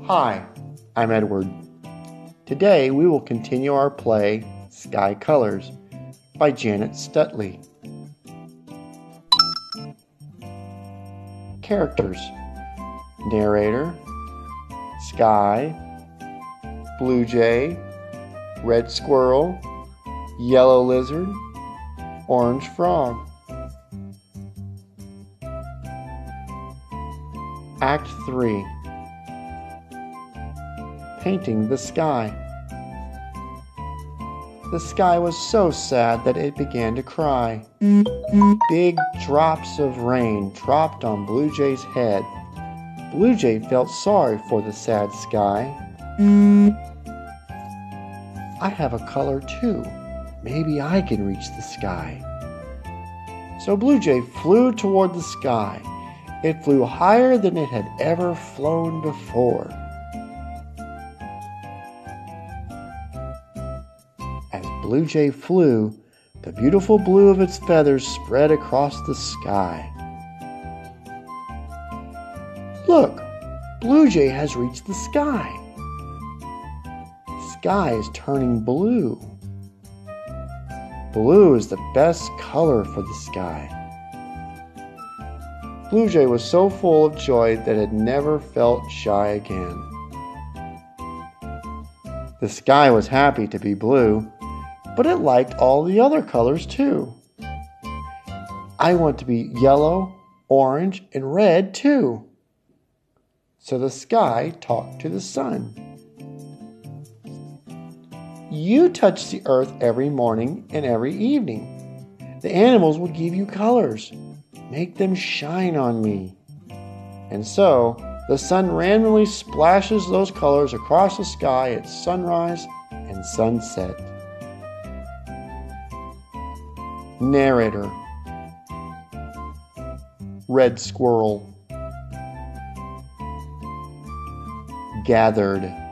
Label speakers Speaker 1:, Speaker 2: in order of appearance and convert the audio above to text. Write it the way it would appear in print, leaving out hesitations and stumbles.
Speaker 1: Hi, I'm Edward. Today we will continue our play Sky Colors by Janet Stutley. Characters: narrator, sky, blue jay, red squirrel, yellow lizard, orange frog. Act 3. Painting the sky. The sky was so sad that it began to cry. Big drops of rain dropped on Blue Jay's head. Blue Jay felt sorry for the sad sky. I have a color too. Maybe I can reach the sky. So Blue Jay flew toward the sky. It flew higher than it had ever flown before. As Blue Jay flew, the beautiful blue of its feathers spread across the sky. Look, Blue Jay has reached the sky. The sky is turning blue. Blue is the best color for the sky. Blue Jay was so full of joy that it never felt shy again. The sky was happy to be blue, but it liked all the other colors too. I want to be yellow, orange, and red too. So the sky talked to the sun. You touch the earth every morning and every evening. The animals will give you colors. Make them shine on me. And so, the sun randomly splashes those colors across the sky at sunrise and sunset. Narrator: red squirrel. Gathered.